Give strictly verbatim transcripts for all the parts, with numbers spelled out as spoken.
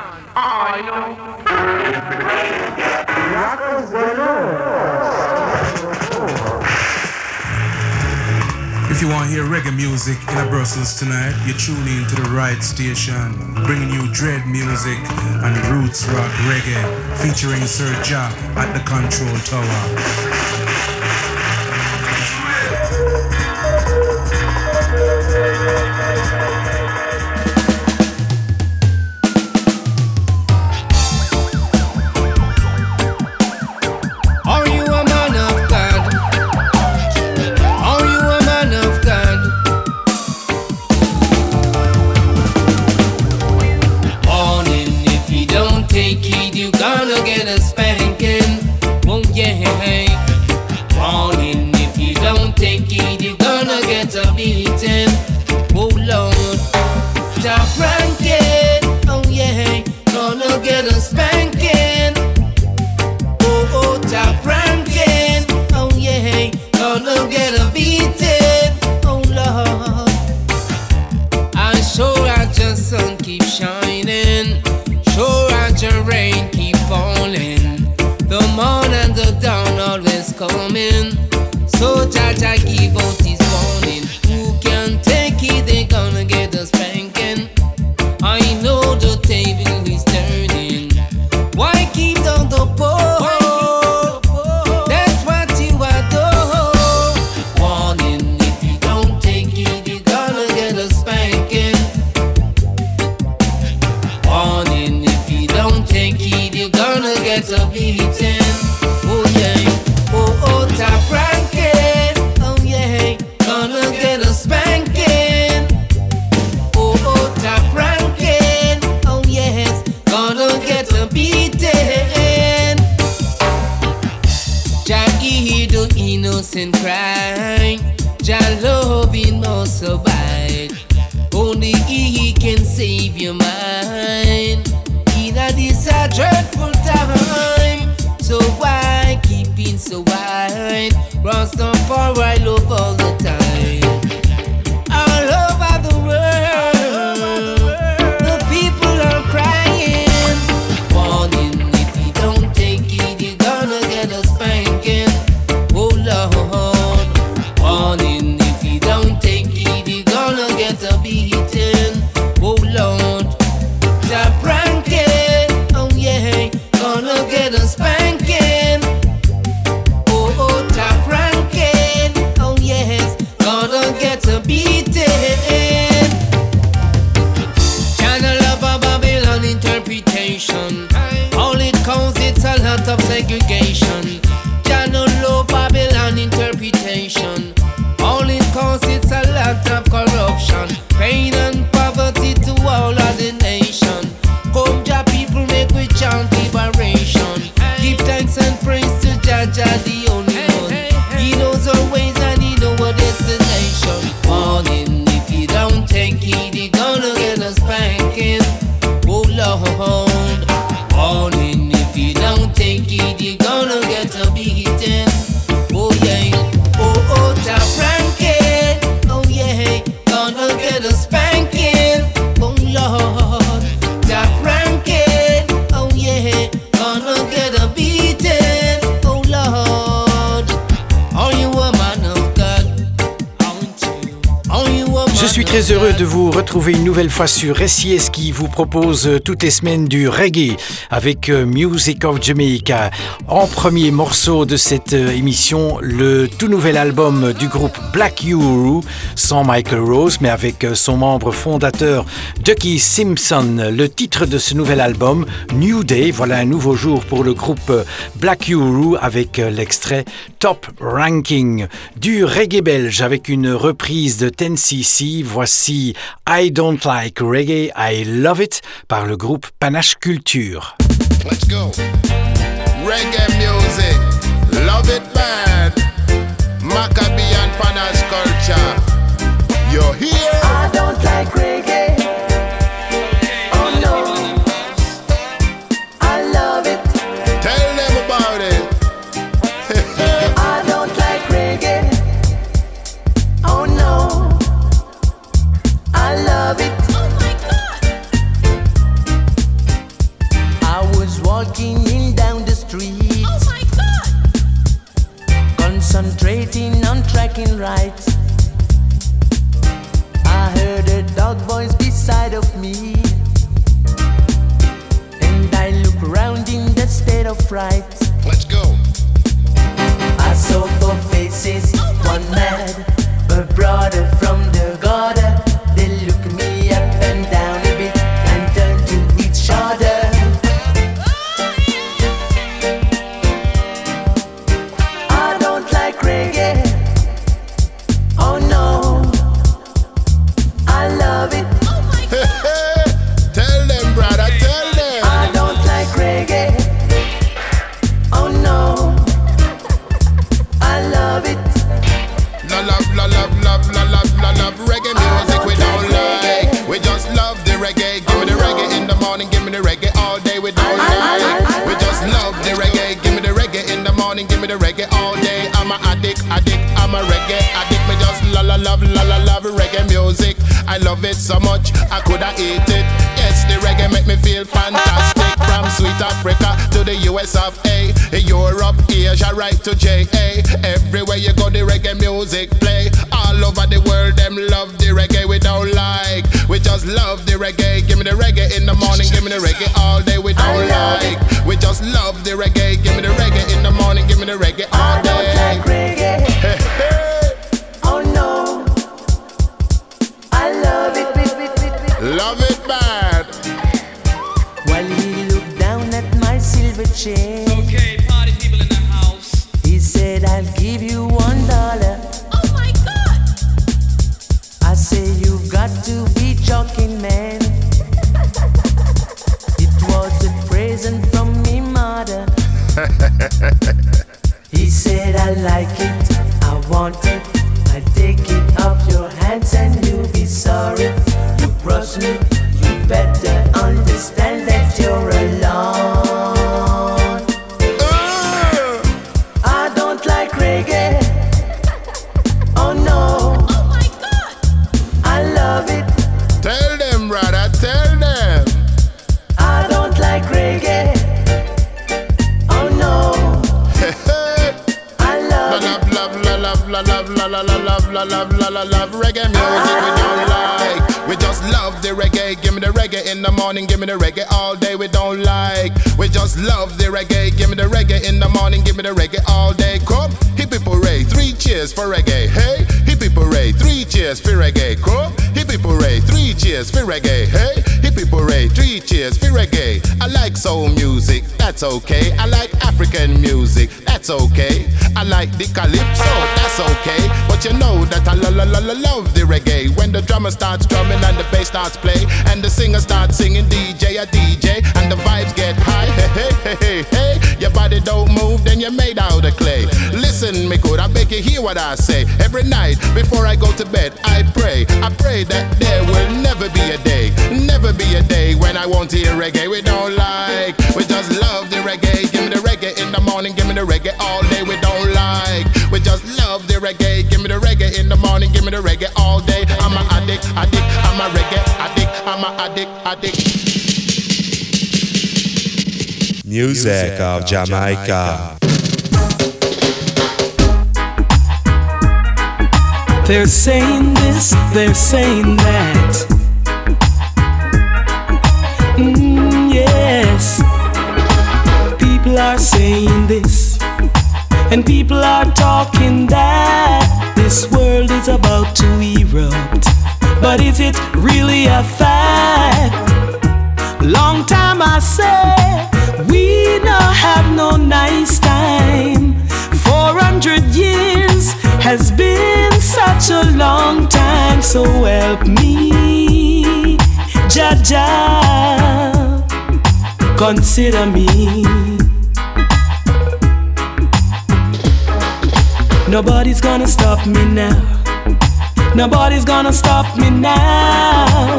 I know. If you want to hear reggae music in Brussels tonight, you tune in to the right station, bringing you dread music and roots rock reggae, featuring Sir Ja at the Control Tower. Très heureux de vous retrouver une nouvelle fois sur S I S qui vous propose toutes les semaines du reggae avec Music of Jamaica. En premier morceau de cette émission, le tout nouvel album du groupe Black Uhuru, sans Michael Rose mais avec son membre fondateur Ducky Simpson. Le titre de ce nouvel album, New Day, voilà un nouveau jour pour le groupe Black Uhuru avec l'extrait Top Ranking. Du reggae belge avec une reprise de ten C C. Voici I Don't Like Reggae, I Love It par le groupe Panache Culture. Let's go. Reggae music, love it bad. Maccabee and Panache culture. You're here. I don't like reggae. Oh no. I love it. Tell them about it. I don't like reggae. Oh no. I love it. Oh my God. walking in down the street. Oh my God! Concentrating on tracking right. I heard a dog voice beside of me, and I look around in that state of fright. Let's go. I saw four faces, one mad, a brother from the gutter. They look me up and down a bit and turn to each other. I don't like reggae. Oh no, I love it. Oh my God! Tell them, brother, tell them. I don't like reggae. Oh no, I love it. La love, la love, love, la love, la love reggae music we don't like. We just love the reggae. Give me the reggae in the morning, give me the reggae all day we don't like. We just love the reggae. Give me the reggae in the morning, give me the reggae all day. I'm a addict, addict, I'm a reggae addict. Me just la la love, la la love reggae music. I love it so much, I coulda eat it. Yes, the reggae make me feel fantastic. From sweet Africa to the U S of A, Europe, Asia, right to J A. Everywhere you go, the reggae music play. All over the world, them love the reggae we don't like. We just love the reggae. Give me the reggae in the morning, give me the reggae all day we don't like. We just love the reggae. Give me the reggae in the morning, give me the reggae all I don't day. like reggae. Hey, hey. Oh no, I love it. Love it bad. While he looked down at my silver chain, Okay, party people in the house. he said, I'll give you one dollar. Oh my God! I say, you've got to be joking, man. It was a present from me mother. He said, I like it, I want it. I take it off your hands and you'll be sorry. You cross me, you better understand that you're alone. Uh, I don't like reggae. Oh no, Oh my God! I love it. tell them, brother, tell them. I don't like reggae. Oh no, I La love it. love, love, la love, la love, la la love, la love, la la love reggae music we don't like. We just love the reggae. Give me the reggae in the morning, give me the reggae all day we don't like. We just love the reggae. Give me the reggae in the morning, give me the reggae all day. Come, hippie hooray, three cheers for reggae. Hey, hippie hooray, three cheers for reggae. Come, hippie hooray, three cheers for reggae. Hey, hippie hooray, three cheers for reggae. I like soul music, that's okay. I like African music, that's okay. I like the calypso, that's okay. But you know that I lo lo lo lo love the reggae. When the drummer starts drumming and the bass starts play, and the singer starts singing, D J a D J, and the vibes get high. Hey hey hey hey hey, your body don't move, then you're made out of clay. Listen, me good, I beg you hear what I say. Every night before I go to bed, I pray. I pray that there will never be a day, never be a day when I won't hear reggae we don't like. We just love the reggae. Give me the reggae in the morning, give me the reggae all day we don't like. We just love the reggae. Give me the reggae in the morning, give me the reggae all day. I'm a addict, addict, I'm a reggae addict, I'm a addict, addict. Music of Jamaica. They're saying this, they're saying that. Mm, yes. People are saying this, and people are talking that. This world is about to erupt, but is it really a fact? Long time I say, we don't have no nice time. Four hundred years has been such a long time, so help me, Jah Jah, consider me. Nobody's gonna stop me now. Nobody's gonna stop me now.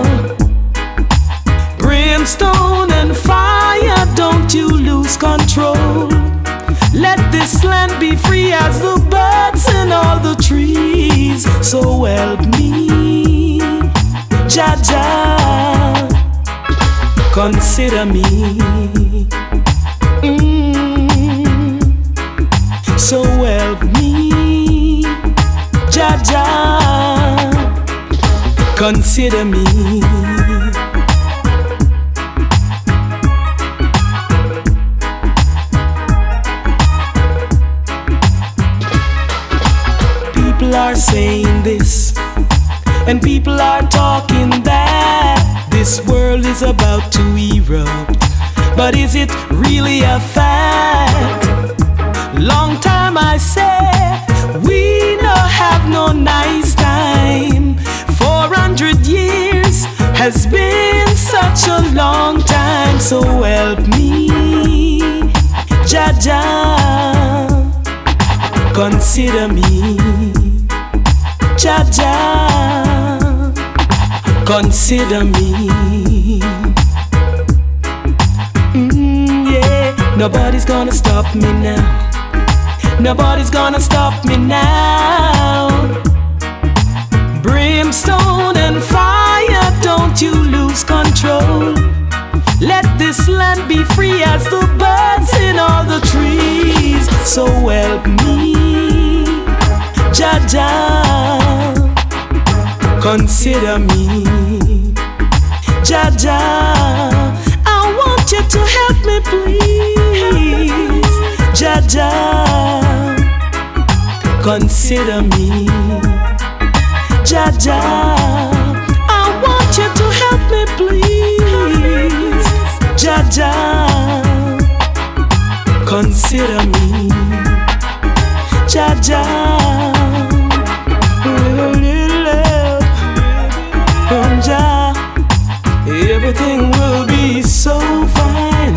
Brimstone and fire, don't you lose control. Let this land be free as the birds and all the trees. So help me, Jah Jah, consider me. Mm. So help me, Jah Jah, consider me. People are saying this, and people are talking that this world is about to erupt. But is it really a fact? Long time I say, we no have no nice time. Four hundred years has been such a long time. So help me, Jah Jah, consider me. Jah Jah, consider me. Mm, yeah, nobody's gonna stop me now. Nobody's gonna stop me now. Brimstone and fire, don't you lose control. Let this land be free as the birds in all the trees. So help me, Jah Jah, consider me. Jah Jah, I want you to help me please. Jah Jah, consider me. Jah Jah, I want you to help me please. Jah Jah, consider me. Jah Jah, little, little love from Jah, everything will be so fine.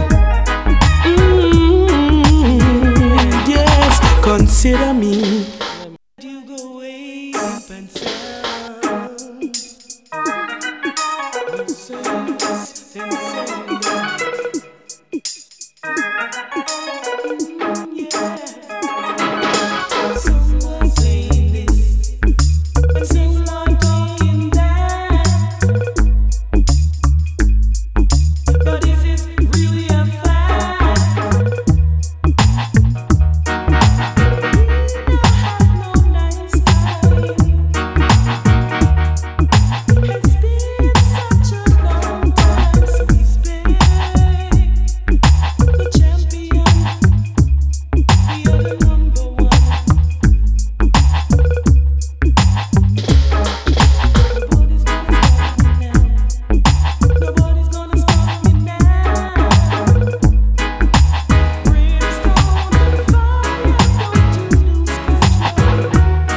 Mm, yes, consider me. You go way up and sound. You say this and say that. Yeah. Someone saying this, and someone talking that. But is it really a fact? We don't have no nice time. It's been such a long time since we've been the champion. We are the number one. Nobody's gonna stop me now. Nobody's gonna stop me now. Brimstone and fire, don't you lose control.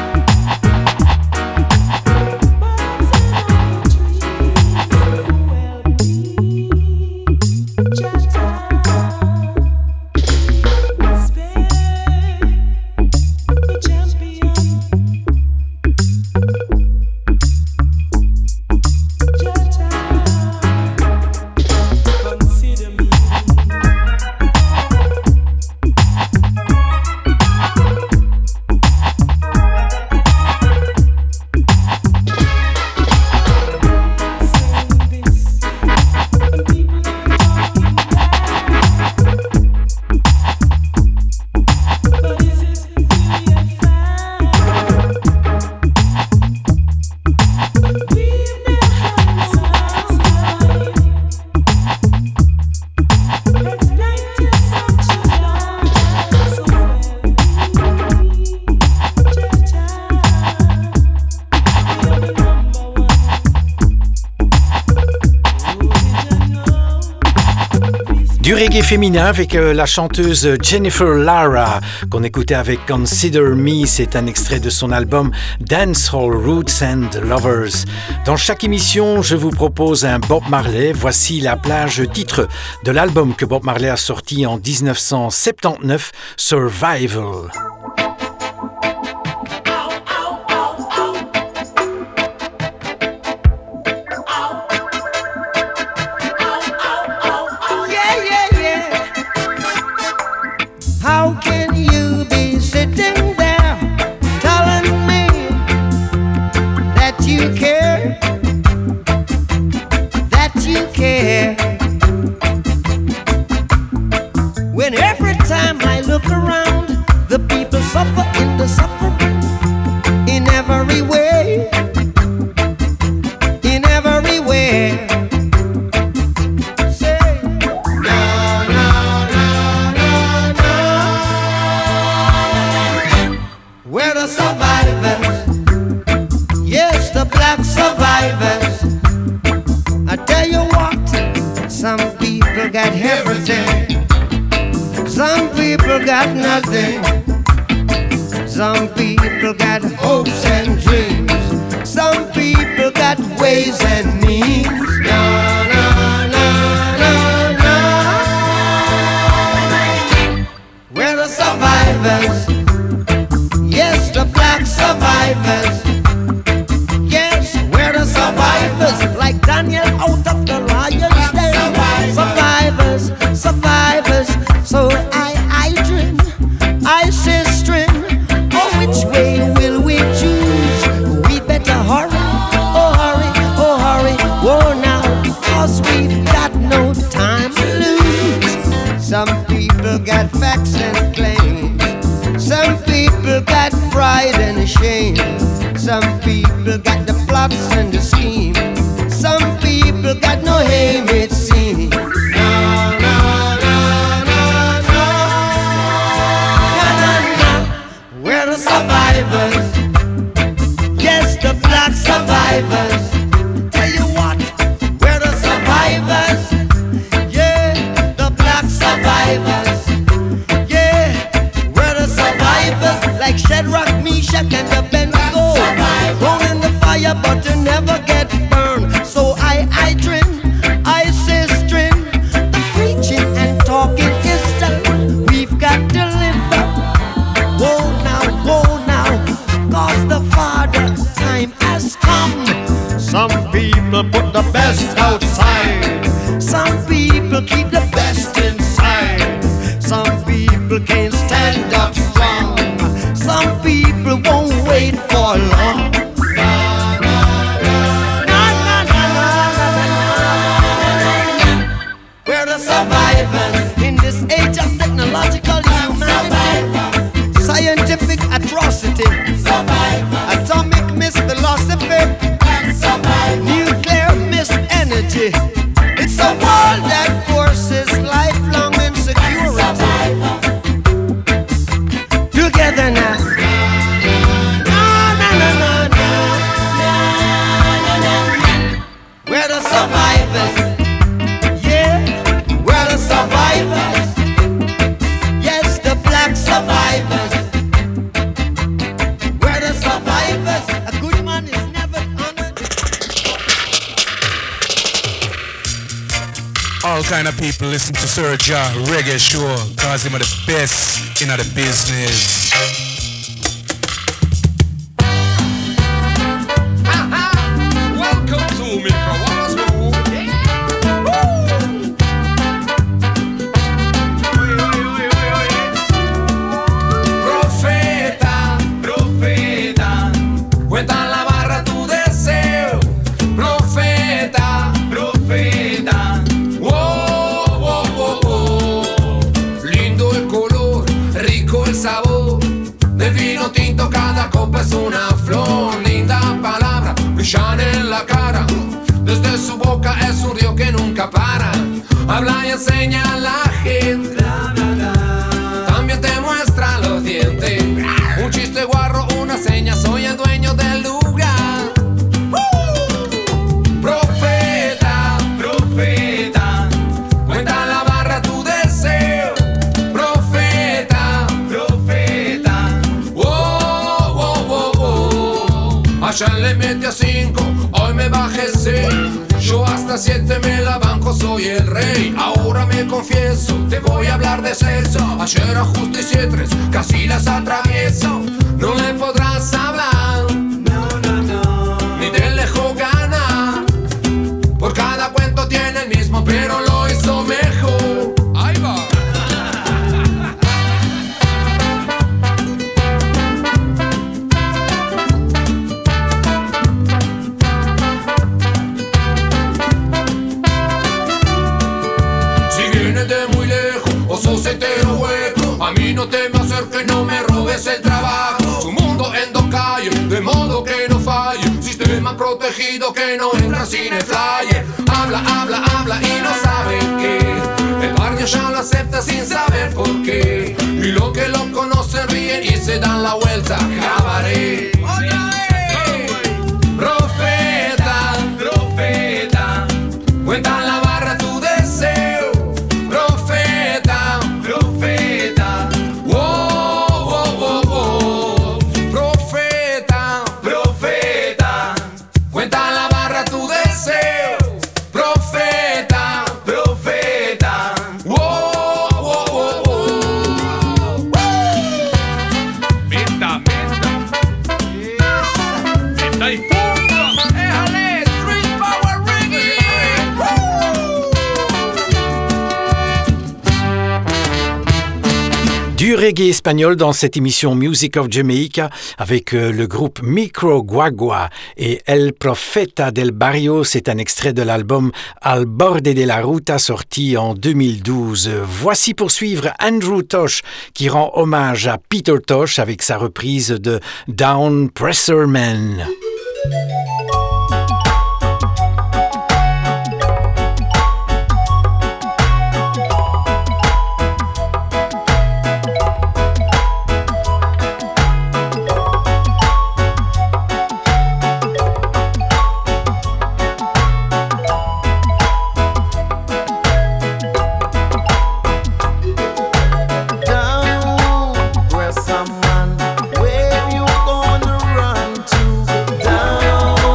Birds in all the trees, well be Jah Jah, respect the champion. Jah Jah, consider me. Saying this, and people are talking that. But is it really a fact? We've never had no time. It's been such a long time. So help me, Jah Jah, we are the number one. Du reggae féminin avec euh, la chanteuse Jennifer Lara qu'on écoutait avec Consider Me. C'est un extrait de son album Dancehall Roots and Lovers. Dans chaque émission, je vous propose un Bob Marley. Voici la plage titre de l'album que Bob Marley a sorti en dix-neuf cent soixante-dix-neuf, Survival. Yeah, yeah, yeah. How can you be sitting there telling me that you care? That you care? When And every time I look around, the people suffer in the suffering in every way, in every way. Say, no, no, no, no, no. We're the survivors, yes, the black survivors. I tell you what, some people got everything, some people got nothing. Some people got hopes and dreams, some people got ways and means. No, no, no, no, no. We're the survivors, yes, the black survivors. Yes, we're the survivors, like Daniel out of the lion's den. Survivors, survivors. So I, I dream, I say string. Oh, which way will we choose? We better hurry, oh hurry, oh hurry, whoa now, cause we've got no time to lose. Some people got facts and claims, some people got pride and shame, some people got the plots and the scheme, some people got no aim, it seems. No, no, no, no, no, no, no, no. We're the survivors, yes, the black survivors. Tell you what, we're the survivors, yeah, the black survivors, yeah, we're the survivors, like Shadrach, Meshach, and Abednego, thrown in the fire but to never get burned. So I, I dream, I say string, the preaching and talking is done. We've got to live up, whoa now, whoa now, cause the Father time has come. Some people put the best outside, some people keep the best inside, some people can't stand up strong, some people won't wait for long. We're the survivors in this age of technological humanity, scientific atrocity, atomic misphilosophy, nuclear misenergy. It's a world that forces lifelong insecurity. Together now. No, no, no, no, no. We're the survivors. Yeah, we're the survivors. Yes, the black survivors. We're the survivors. A good man is never honored. All kind of people listen to Sir Ja Reggae Show, cause him are the best in the business. Welcome to Milka Wallace Road. Profeta, profeta, cuenta la barra tu deseo. Profeta, profeta, wow, wow, wow, wow. Lindo el color, rico el sabor del vino tinto, cada copa es una flor. Linda palabra, brillan en la cara. Desde su boca es un río que nunca para. Habla y enseña a la gente. También te muestra los dientes. Un chiste guarro, una seña, soy el dueño del lugar. Profeta, profeta, cuenta la barra tu deseo. Profeta, profeta, wow, wow, wow, wow. Allá le mete a cinco, hoy me bajé seis. Yo hasta siete me la banco, soy el rey. Ahora me confieso, te voy a hablar de sexo. Ayer a justicia tres, casi las atravieso. No le podrás hablar, no, no, no, ni te dejo ganar. Por cada cuento tiene el mismo, pero lo hizo mejor. Ahí va. Si vienes de muy lejos o sos entero hueco. A mí no te me acerques, no me robes el trabajo. Su mundo en dos calles, de modo que no falle. Sistema protegido que no entra sin el flyer. Habla, habla, habla y no sabe qué. El barrio ya lo acepta sin saber por qué. Y lo que lo conocen ríen y se dan la vuelta. Cabaret. Profeta, profeta, cuenta en la barra tu deseo. Profeta, profeta, wow, wow, wow, wow. Profeta, profeta, cuenta en la barra tu deseo. Profeta, profeta, wow, wow, wow, wow. Meta, meta, meta y punto. Éjale, Street Power Reggae. Du reggae espagnol dans cette émission Music of Jamaica avec euh, le groupe Micro Guagua et El Profeta del Barrio. C'est un extrait de l'album Al Borde de la Ruta sorti en deux mille douze. Voici pour suivre Andrew Tosh qui rend hommage à Peter Tosh avec sa reprise de Down Pressure Man. Down, where you gonna run to? Down,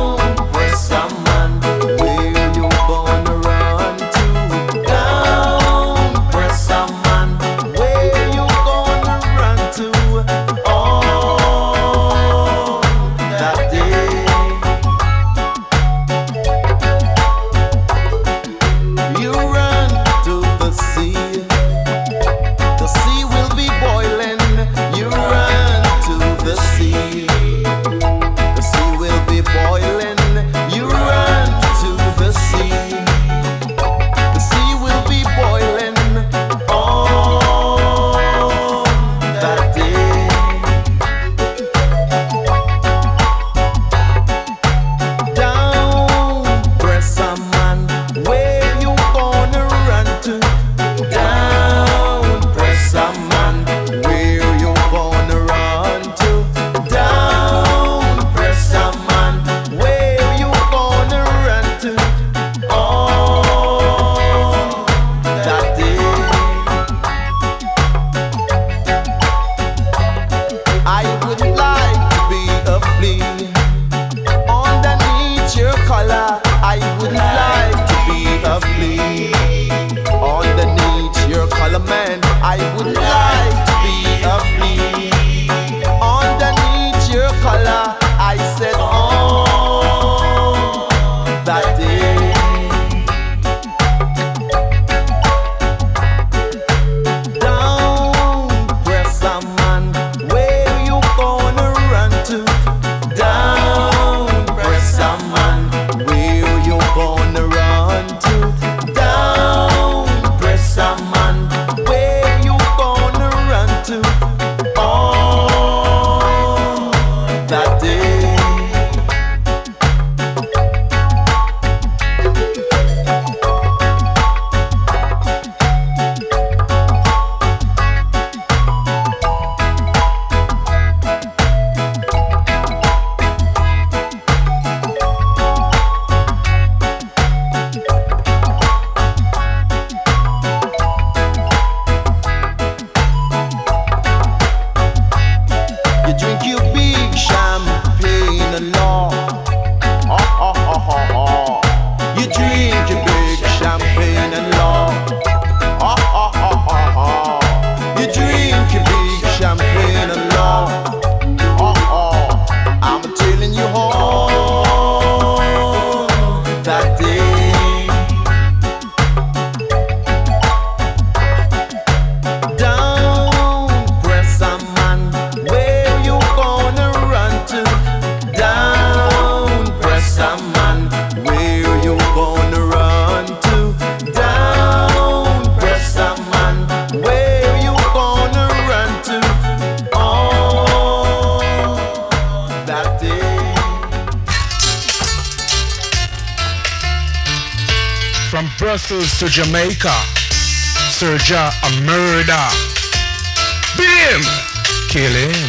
Brussels to Jamaica. Sir Ja a murder. Bim! Kill him.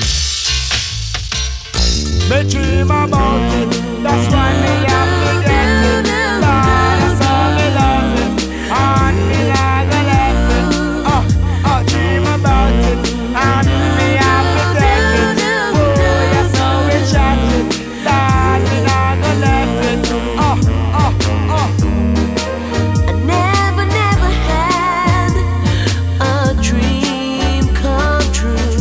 Me dream about it, that's why me have to get it. Lord, that's all me love it, and me like a left it. Oh, oh, dream about it, and me have to take it. Oh, that's how we chat it. Lord, me like a left it. Oh, oh, oh. I never, never had a dream come true.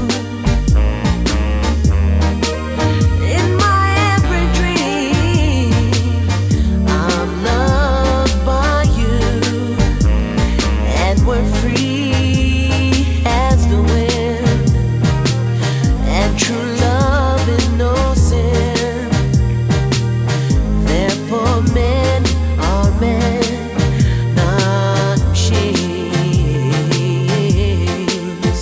In my every dream, I'm loved by you, and we're free as the wind, and true love is no sin. Therefore, men are men, not machines.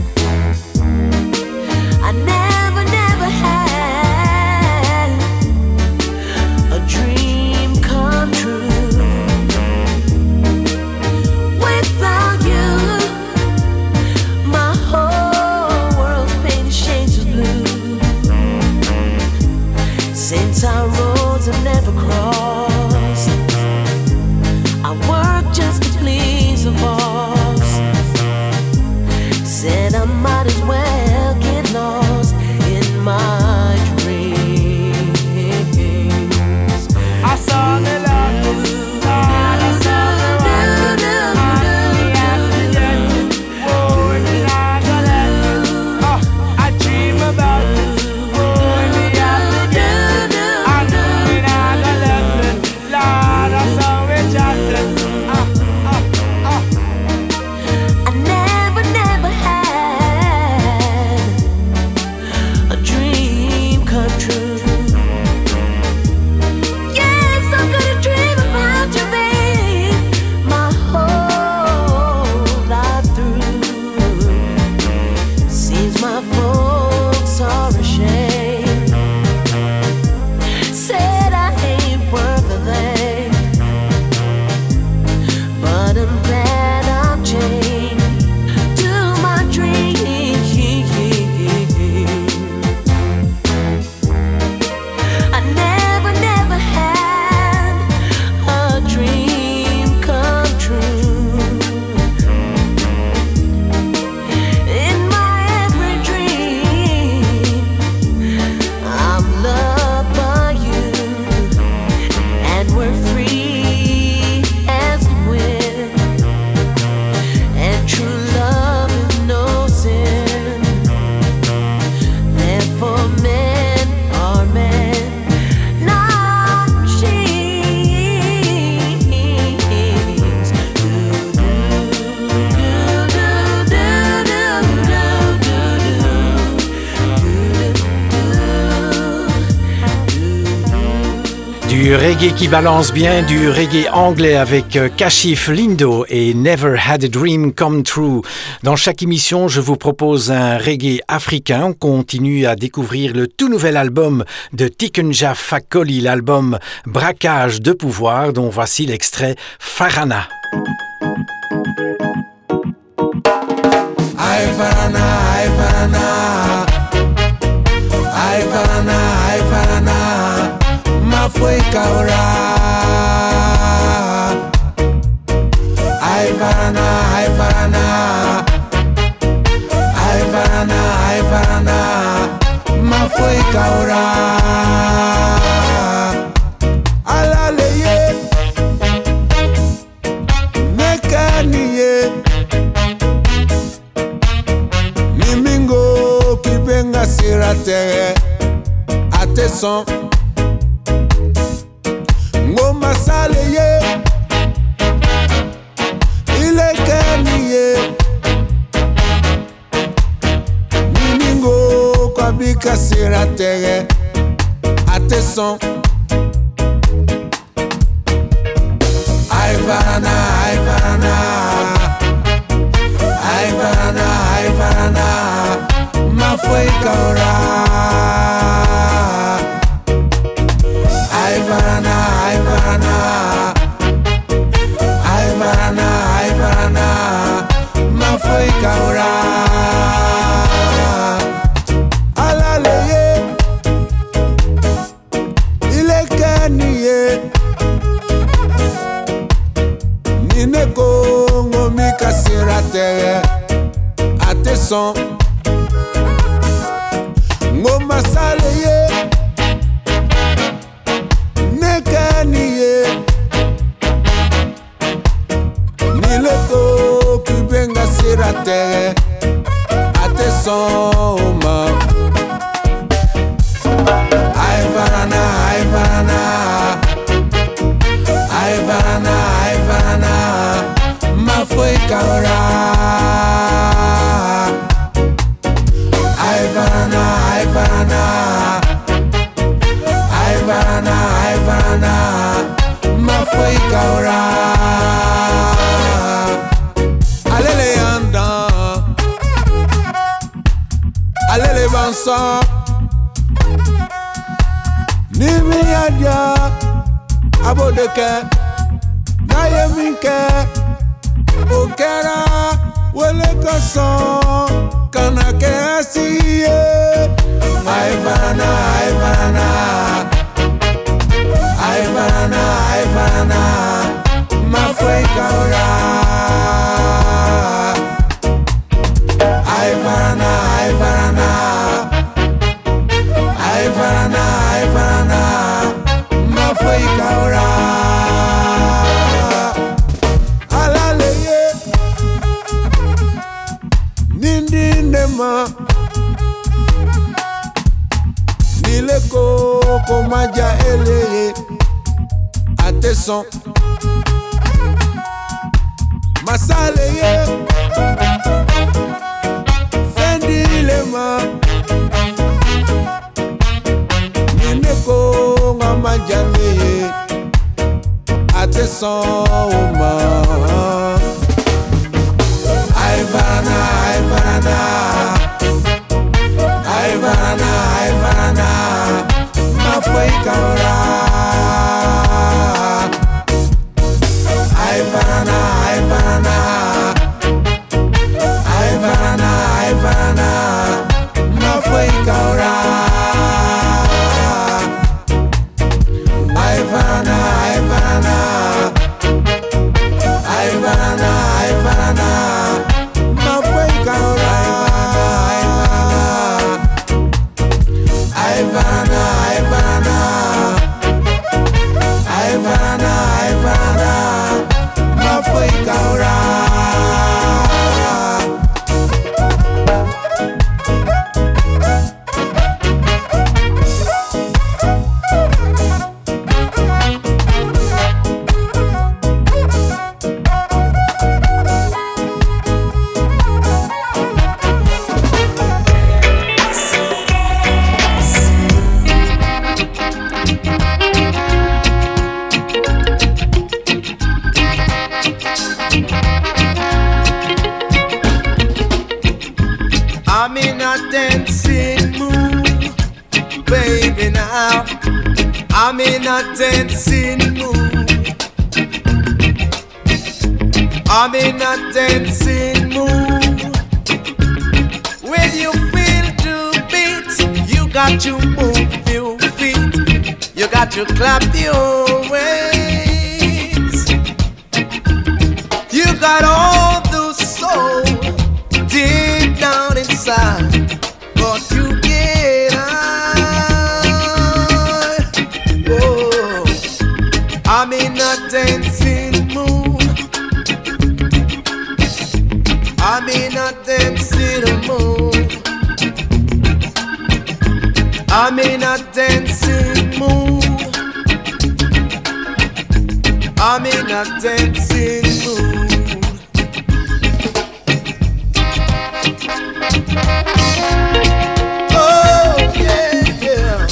I never, never had a dream come true. Without you, my whole world's painted shades of blue. Since our roads have never crossed, I work just to please the boss. Said I might as well get lost in my dreams. I saw the love, Lord, I saw the want it, and me have to get it. Oh, me like a left it. Oh, I dream about it. Oh, me have to get it, and me like a left it. Lord, I saw we chat it. Ah, ah, ah. I never, never had a dream come true. Yes, I'm gonna dream about you, babe, my whole life through. Seems my folks are ashamed. Said I ain't worth a thing, but I'm glad I've changed to my dreams. I never, never had a dream come true. In my every dream, I'm loved by you, and we're free as the wind, and true love is no sin. Therefore, men are men, not machines. Do, do, do, do, do, do, do, do, do. Du reggae qui balance bien, du reggae anglais avec euh, Kashif Lindo et Never Had a Dream Come True. Dans chaque émission, je vous propose un reggae africain. On continue à découvrir le tout nouvel album de Tikenja Fakoli, l'album Braquage de pouvoir, dont voici l'extrait Farana. Aye Farana, aye Farana, aye Farana, aye Farana, mafwe kaura. Aye Farana, aye Farana, aye Farana, aye Farana, mafwe kaura. Alaleye, mekaniye. Mimingo kibenga siratere ateson ngoma saleye ile kaniye Mimingo kwabika siratere ateson Ay Farana, ay Farana, ay Farana, ay Farana, mafwe kaura. Ay Farana, ay Farana, la terre à tes sons. Ngoma saleye nekaniye ni le to qui benga sur la terre à tes sons. Ay varana, ay varana, ay varana, ay varana, ma foi kaora. Ay varana, ay varana, ay varana, ay varana, ma foi kaora. Allez les andants, allez les vansants. Nimi yadia abodeke na yeminke okera wele koson kanake asiye. Ay varana, ay varana, ay varana, ay varana, ma foi kaora. Ay varana, ay varana, ay varana, ay varana, ma foi kaora. Alaleye nindi ndema nileko komaja eleye ateson masaleye fendi lema nileko ngamaja leye ateson ma. Ay varana, ay varana, ay varana, ay varana, ma foi kaora. Ay varana, ay varana, ay varana, ay varana, ma foi kaora. Ay varana, ay varana, ay varana, ay varana, ma foi kaora. Ay varana, ay varana, ay varana, ay varana, ma foi kaora. I'm in a dancing mood, baby now. I'm in a dancing mood. I'm in a dancing mood. When you feel the beat, you got to move your feet. You got to clap your hands. You got all the soul deep down inside, but you get high. Oh, I'm in a dancing mood. I'm in a dancing mood. I'm in a dancing mood. I'm in a dancing mood. Oh yeah, yeah.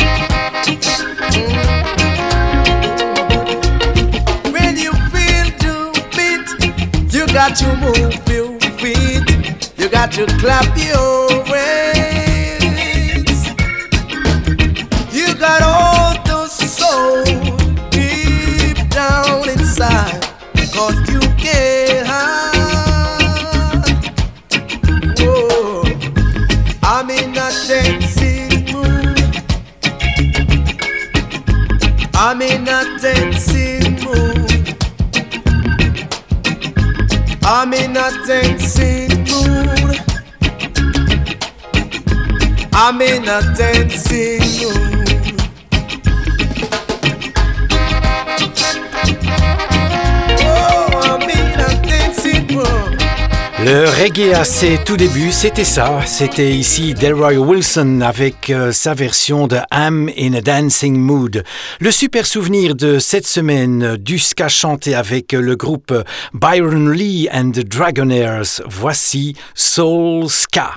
Mm. When you feel the beat, you got to move your feet. You got to clap your hands. You got all the soul deep down inside, 'cause you get high. Whoa. I'm in a dancing mood. I'm in a dancing mood. I'm in a a dancing mood. I'm in a dancing mood. Oh, I'm in a dancing mood. Le reggae à ses tout débuts, c'était ça. C'était ici Delroy Wilson avec euh, sa version de I'm in a Dancing Mood. Le super souvenir de cette semaine du ska chanté avec le groupe Byron Lee and the Dragonaires. Voici Soul Ska.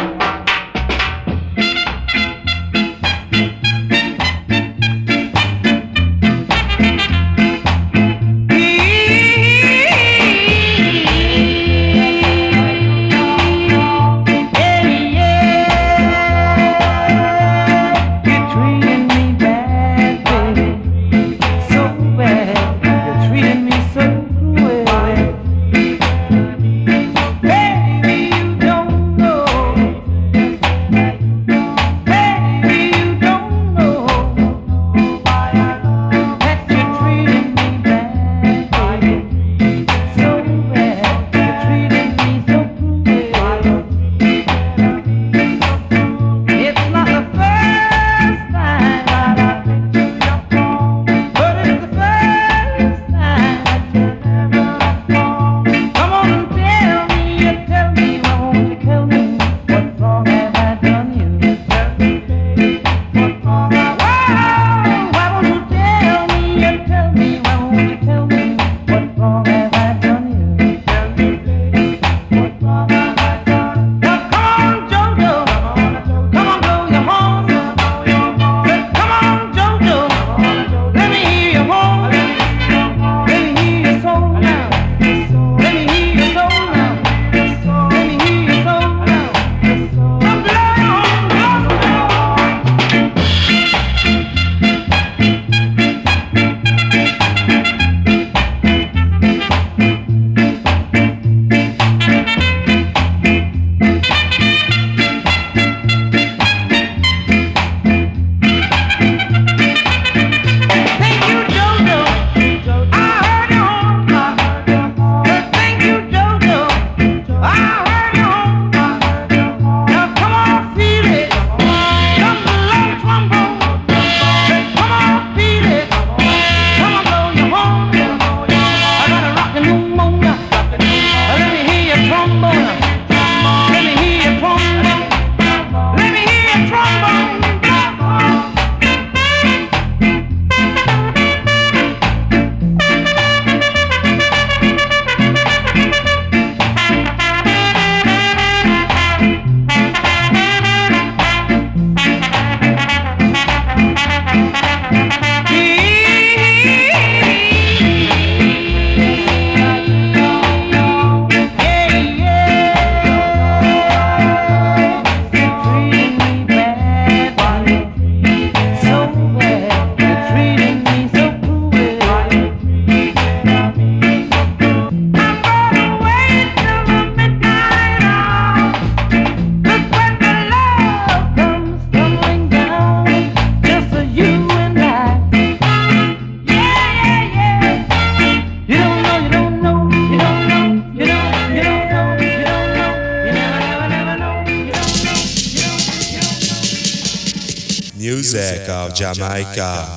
Music of Jamaica.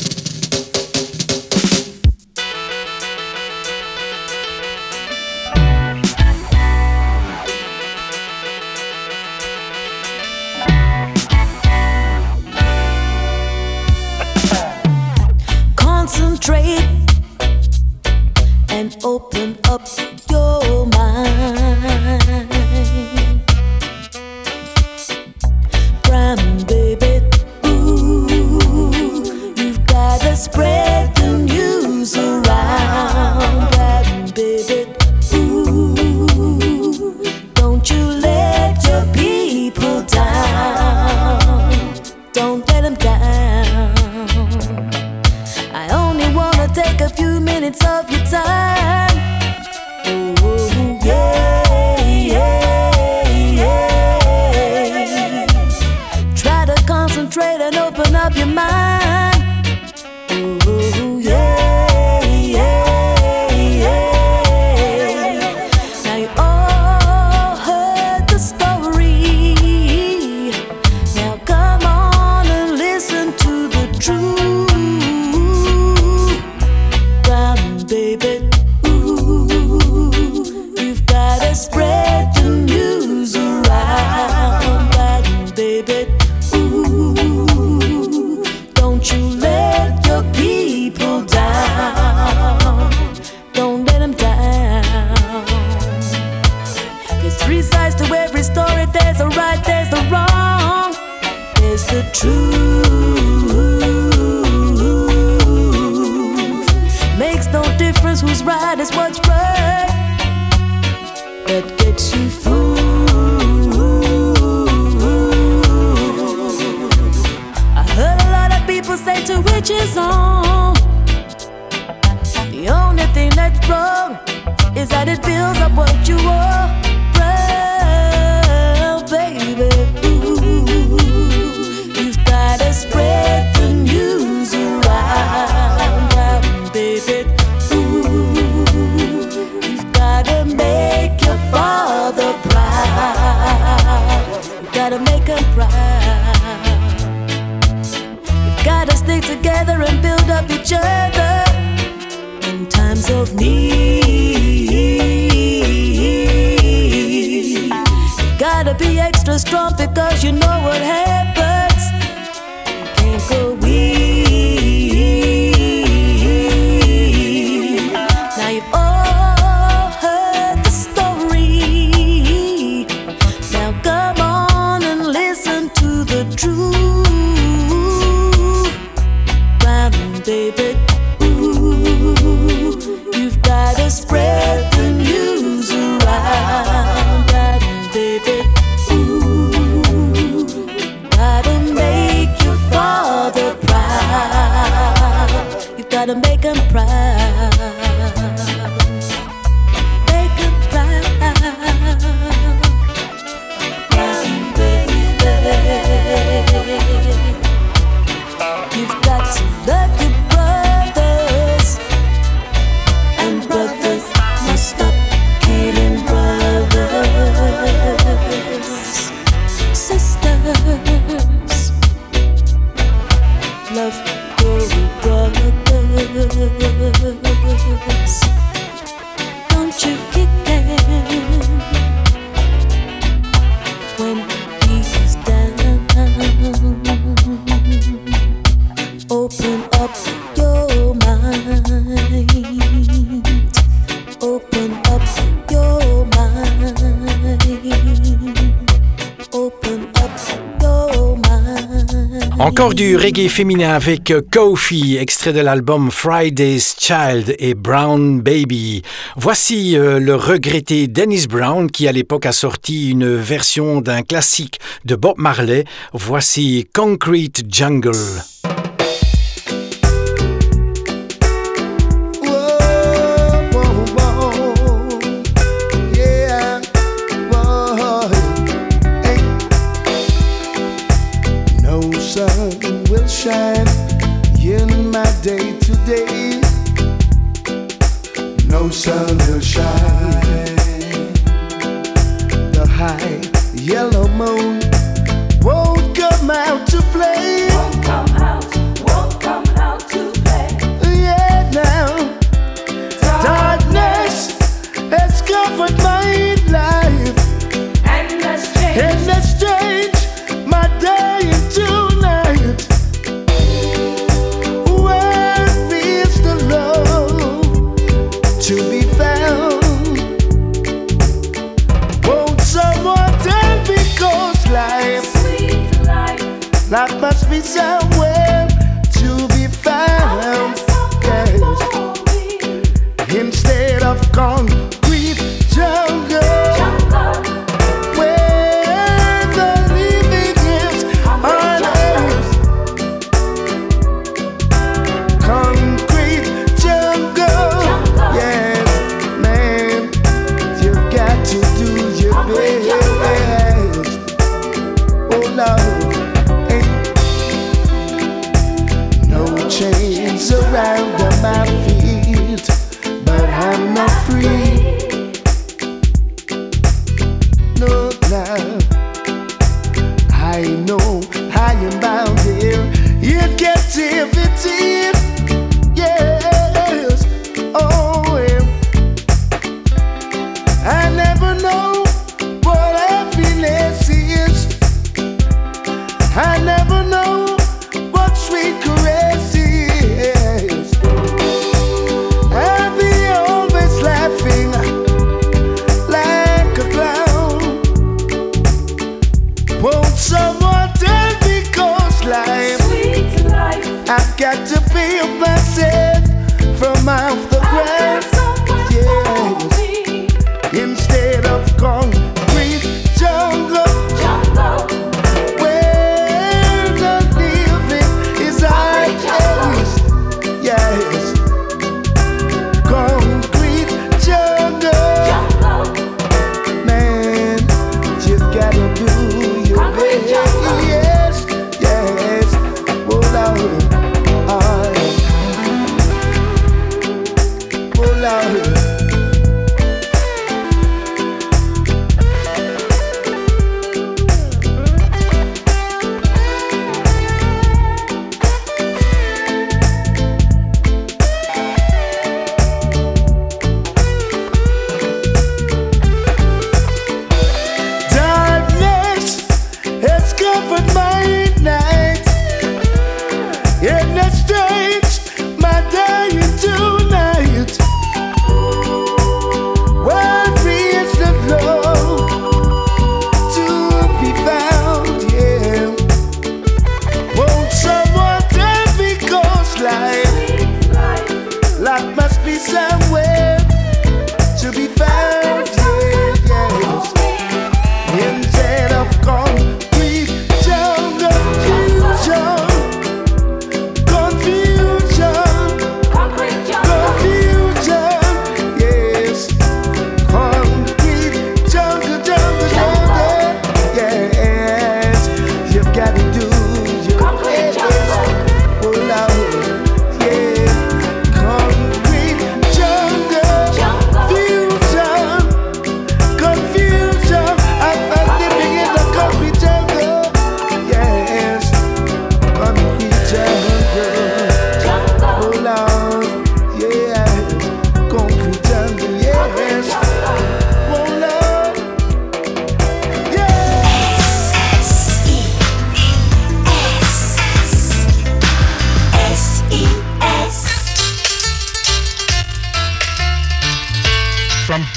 Concentrate and open up your mind. Crying, baby, ooh, you Three sides to every story. There's a right, there's the wrong, there's the truth. Makes no difference who's right, it's what's right that gets you through. I heard a lot of people say to which is on. The only thing that's wrong is that it builds up what you are. Well, baby, ooh, you've gotta spread the news around, round, baby. Ooh, you've gotta make your father proud. You gotta make him proud. You've gotta stick together and build up each other in times of need. You gotta be extra strong because you know what happens. You can't go weak. Now you've all heard the story. Now come on and listen to the truth, round, baby. You've gotta spread the news around, right, baby. Ooh, gotta make your father proud. You've gotta make him proud. Make him proud, right, baby. You've got to love your brothers, and brothers must stop killing brothers. Sisters, love your brothers. Don't you kick him when he's down. Open up your mind. Open up your mind. Open up your mind. Encore du reggae féminin avec Kofi, extrait de l'album Friday's Child et Brown Baby. Voici euh, le regretté Dennis Brown qui à l'époque a sorti une version d'un classique de Bob Marley. Voici Concrete Jungle. Shine in my day today. No sun will shine. The high yellow moon won't come out to play. Won't come out, won't come out to play. Yeah, now darkness has covered my life, and that's changed, and that's changed my day into night. To be found, won't someone tell me, 'cause life, sweet life, life must be somewhere to be found. Yes. Instead of concrete jungle, jungle, where the living is on earth. Concrete jungle. Yes, man, you've got to do your best. Oh Lord, hey.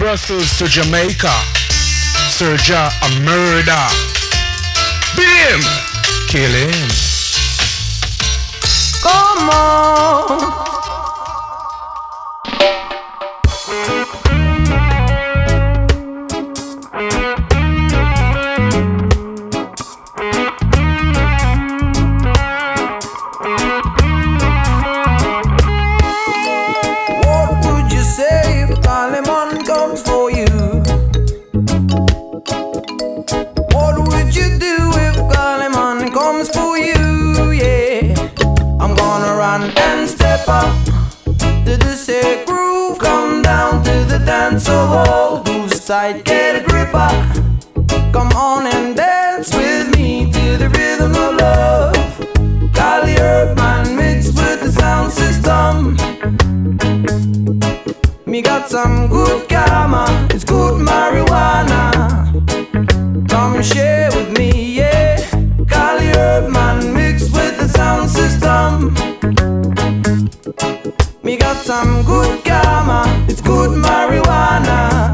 Brussels to Jamaica. Sir Ja a murder. Beat him. Kill him. Come on. So old, who's tight, get a gripper. Come on and dance with me to the rhythm of love. Cali Urban mixed with the sound system. Me got some good karma, it's good marijuana. Come share with me, yeah. Cali Urban mixed with the sound system. Me got some good karma, it's good marijuana.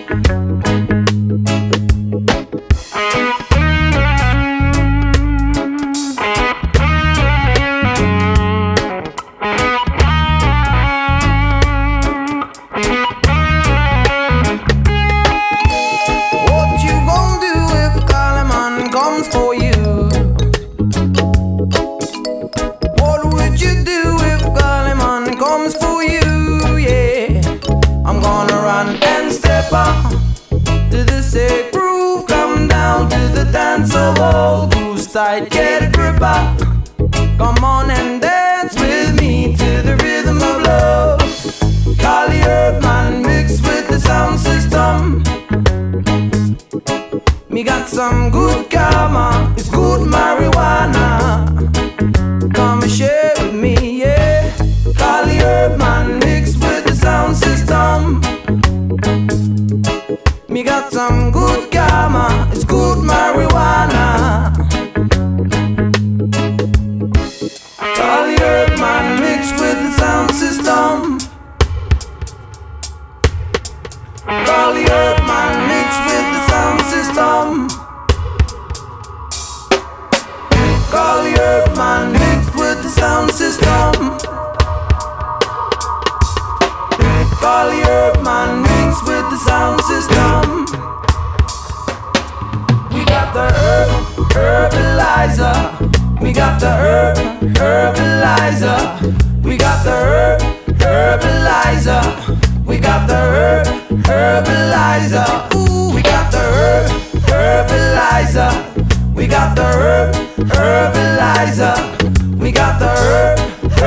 What you gonna do if Kalaman comes for you? What would you do if Kalaman comes for you? Yeah, I'm gonna run and step up to the sick groove. Come down to the dance of old grooves tight, get a grip up. Come on and dance with me to the rhythm of love. Cali Urban mixed with the sound system. Me got some good karma, it's good marijuana. Come and share with me, yeah. Cali Urban mixed with the sound system. Me got some good karma, it's good marijuana. Cali Urban mixed with the sound system. Cali Urban mixed with the sound system. Cali Urban mixed with the sound system. Cali Urban mixed with the sound system. We got the herb, herbalizer. We got the herb, herbalizer. We got the herb, herbalizer. We got the herb, herbalizer. Ooh, we got the herb, herbalizer. We got the herb, herbalizer. We got the herb,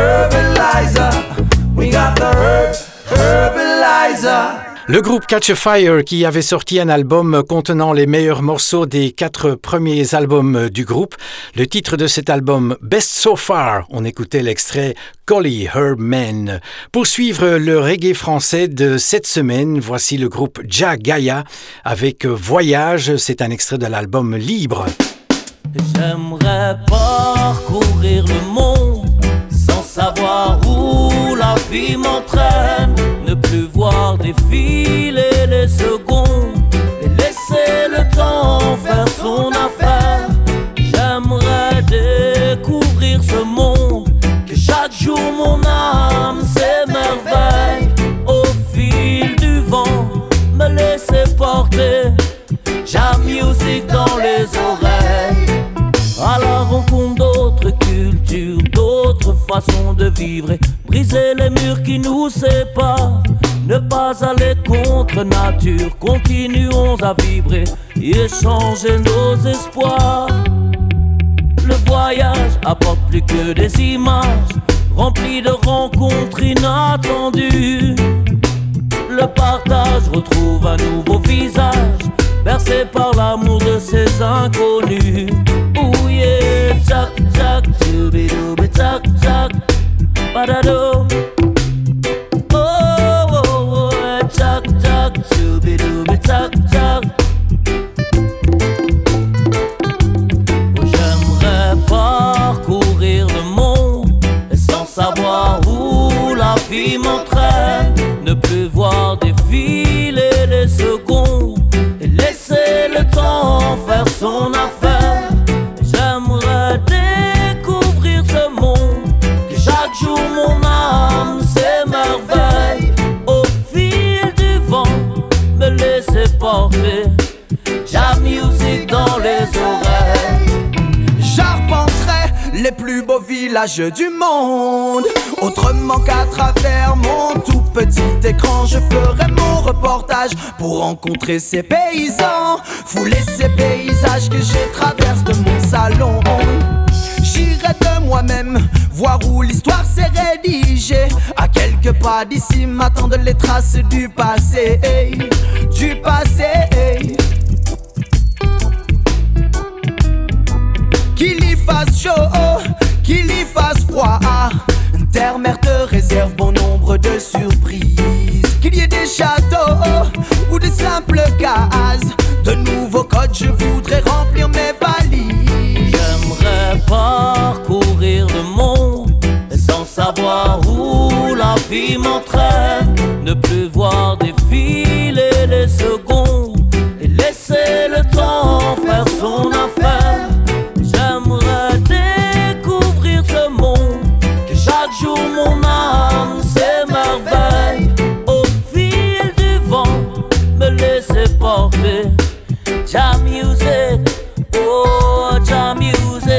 herbalizer. We got the herb, herbalizer. Le groupe Catch a Fire qui avait sorti un album contenant les meilleurs morceaux des quatre premiers albums du groupe. Le titre de cet album, Best So Far, on écoutait l'extrait Collie Herb Man. Pour suivre le reggae français de cette semaine, voici le groupe Ja Gaia avec Voyage, c'est un extrait de l'album Libre. J'aimerais parcourir le monde sans savoir où la vie m'entraîne, ne plus voir défiler les secondes et laisser le temps faire son affaire. J'aimerais découvrir ce monde, que chaque jour mon âme s'émerveille. Au fil du vent, me laisser porter, Ja Music dans les oreilles. À la rencontre d'autres cultures, d'autres façons de vivre et briser les murs qui nous séparent. Ne pas aller contre nature, continuons à vibrer et échanger nos espoirs. Le voyage apporte plus que des images, rempli de rencontres inattendues. Le partage retrouve un nouveau visage, bercé par l'amour de ces inconnus. Ouh yeah, tchac tchac, tchoubidoube tchac tchac, badado. Oh oh oh, tchac tchac, tchoubidoube tchac tchac. J'aimerais parcourir le monde sans savoir où la vie m'entraîne, ne plus voir défiler les les plus beaux villages du monde. Autrement qu'à travers mon tout petit écran, je ferai mon reportage pour rencontrer ces paysans, fouler ces paysages que j'ai traversé de mon salon. J'irai de moi-même voir où l'histoire s'est rédigée. À quelques pas d'ici m'attendent les traces du passé, du passé. Qu'il y fasse chaud, qu'il y fasse froid, terre, mer te réserve bon nombre de surprises. Qu'il y ait des châteaux ou de simples cases, de nouveaux codes je voudrais remplir mes valises. J'aimerais parcourir le monde sans savoir où la vie m'entraîne. Ne plus voir défiler les secondes et laisser le temps faire son affaire. J'aimerais découvrir ce monde, que chaque jour mon âme s'émerveille. Au fil du vent, me laisser porter. Jam music, oh jam music.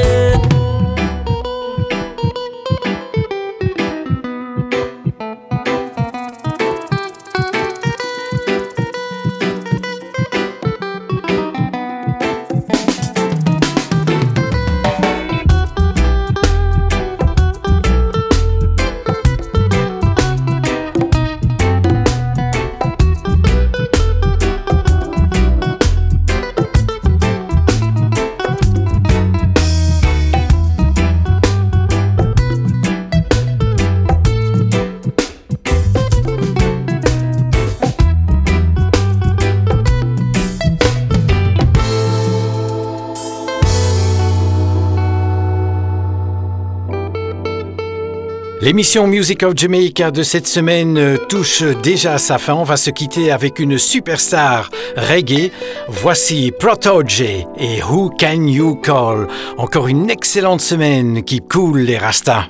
L'émission Music of Jamaica de cette semaine touche déjà à sa fin. On va se quitter avec une superstar reggae. Voici Protoje et Who Can You Call. Encore une excellente semaine qui coule les rastas.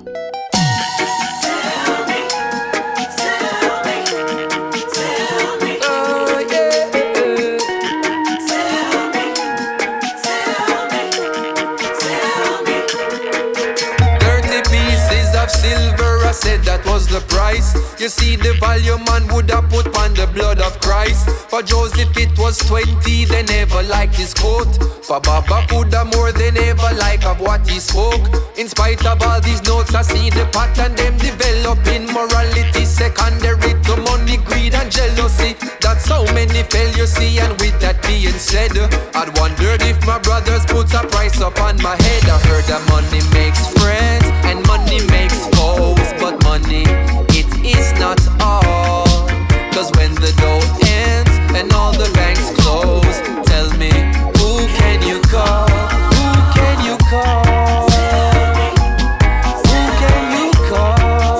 Said that was the price. You see the value man would have put on the blood of Christ. For Joseph it was twenty, they never liked his coat. For Baba Buddha more than ever like of what he spoke. In spite of all these notes I see the pattern them developing. Morality secondary to money, greed and jealousy. That's how many fail you see. And with that being said, I'd wondered if my brothers put a price upon my head. I heard that money makes friends and money makes foes. But money, it is not all. Cause when the dough ends and all the banks close, tell me, who can you call? Who can you call? Who can you call?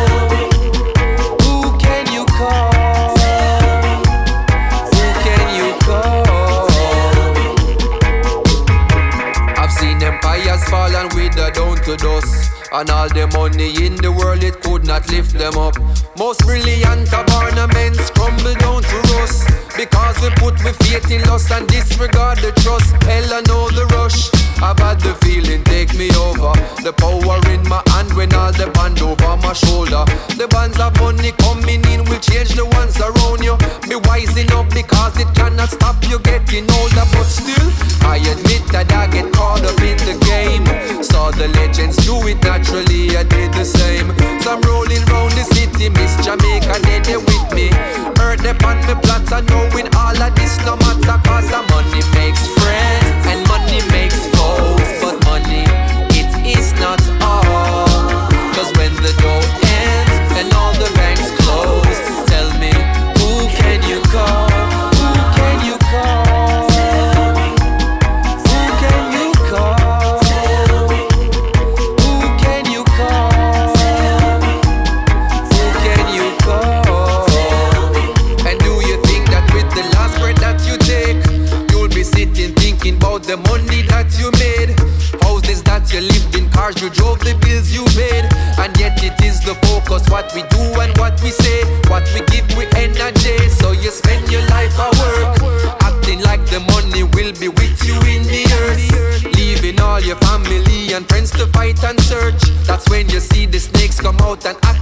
Who can you call? Who can you call? I've seen empires fall and wither down to dust. And all the money in the world, it could not lift them up. Most brilliant of ornaments crumble down to rust. Because we put we faith in loss and disregard the trust. Hell, I know the rush. I've had the feeling take me over. The power in my hand when all the band over my shoulder. The bands of money coming in will change the ones around you. Be wising up because it cannot stop you getting older. But still, I admit that I get caught up in the game. Saw the legends do it naturally, I did the same. So I'm rolling round the city, Miss Jamaica, they there with me. Heard them on the plot and knowing all of this no matter. Cause the money makes friends and money makes foes. But money, it is not all. Cause when the dough ends and all the banks close, tell me, who can you call? Who can you call? Who can you call? Who can you call? Who can you call? And do you think that with the last breath that you take, you'll be sitting thinking about the money that you made? Houses that you lived in, cars you drove, the bills you paid. And yet it is the focus, what we do and what we say. What we give, we energy. So you spend your life at work, acting like the money will be with you in the earth. Leaving all your family and friends to to fight and search. That's when you see the snakes come out and act